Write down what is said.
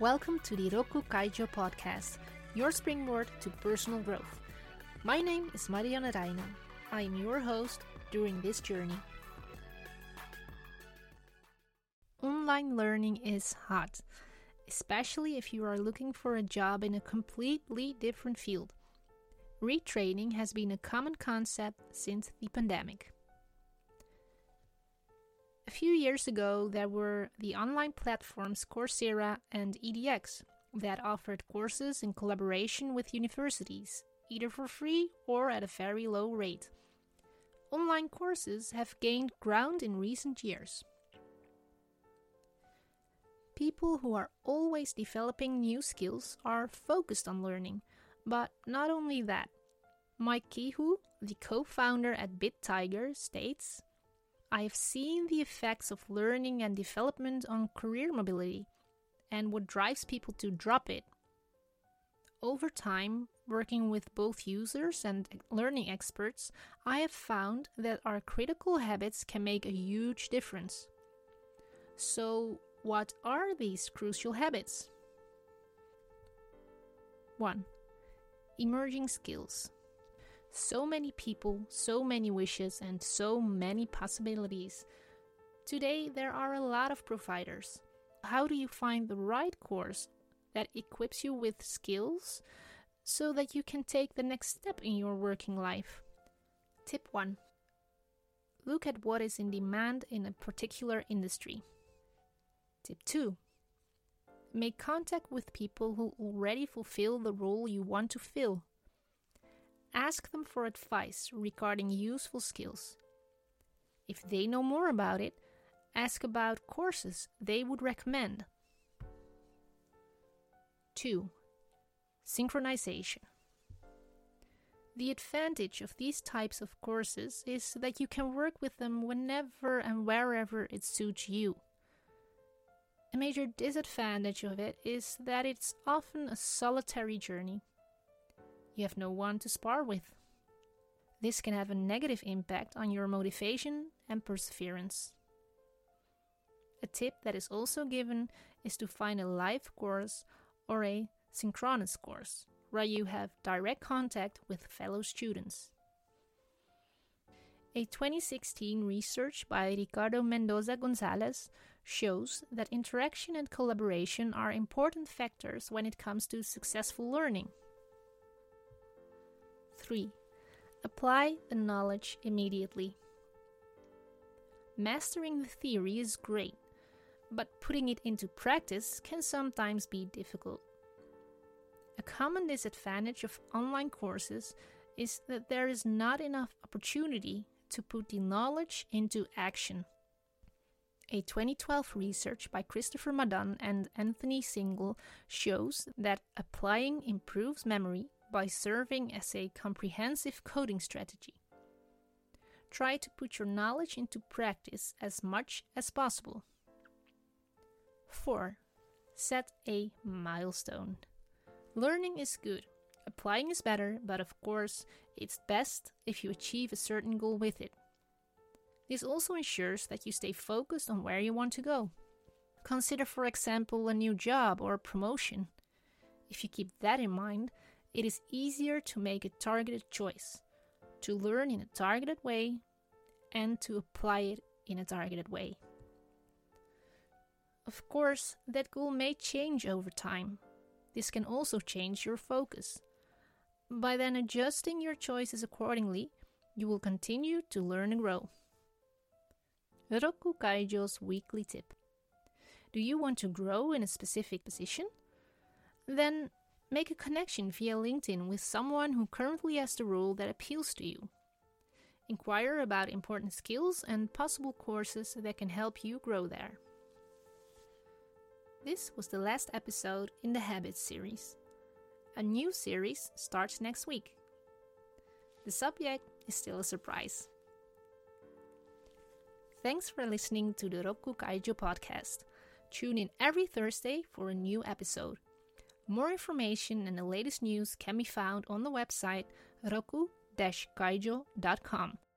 Welcome to the Roku Kaijo podcast, your springboard to personal growth. My name is Marianne Reijnen. I am your host during this journey. Online learning is hot, especially if you are looking for a job in a completely different field. Retraining has been a common concept since the pandemic. A few years ago, there were the online platforms Coursera and edX that offered courses in collaboration with universities, either for free or at a very low rate. Online courses have gained ground in recent years. People who are always developing new skills are focused on learning, but not only that. Mike Kehoe, the co-founder at BitTiger, states, I have seen the effects of learning and development on career mobility and what drives people to drop it. Over time, working with both users and learning experts, I have found that our critical habits can make a huge difference. So, what are these crucial habits? 1. Emerging skills. So many people, so many wishes, and so many possibilities. Today, there are a lot of providers. How do you find the right course that equips you with skills so that you can take the next step in your working life? Tip 1. Look at what is in demand in a particular industry. Tip 2. Make contact with people who already fulfill the role you want to fill. Ask them for advice regarding useful skills. If they know more about it, ask about courses they would recommend. 2. Synchronization. The advantage of these types of courses is that you can work with them whenever and wherever it suits you. A major disadvantage of it is that it's often a solitary journey. You have no one to spar with. This can have a negative impact on your motivation and perseverance. A tip that is also given is to find a live course or a synchronous course, where you have direct contact with fellow students. A 2016 research by Ricardo Mendoza Gonzalez shows that interaction and collaboration are important factors when it comes to successful learning. 3. Apply the knowledge immediately. Mastering the theory is great, but putting it into practice can sometimes be difficult. A common disadvantage of online courses is that there is not enough opportunity to put the knowledge into action. A 2012 research by Christopher Madan and Anthony Single shows that applying improves memory by serving as a comprehensive coding strategy. Try to put your knowledge into practice as much as possible. 4. Set a milestone. Learning is good, applying is better, but of course, it's best if you achieve a certain goal with it. This also ensures that you stay focused on where you want to go. Consider, for example, a new job or promotion. If you keep that in mind, it is easier to make a targeted choice, to learn in a targeted way, and to apply it in a targeted way. Of course, that goal may change over time. This can also change your focus. By then adjusting your choices accordingly, you will continue to learn and grow. Roku Kaijo's weekly tip. Do you want to grow in a specific position? Then make a connection via LinkedIn with someone who currently has the role that appeals to you. Inquire about important skills and possible courses that can help you grow there. This was the last episode in the Habits series. A new series starts next week. The subject is still a surprise. Thanks for listening to the Roku Kaijo podcast. Tune in every Thursday for a new episode. More information and the latest news can be found on the website roku-kaijo.com.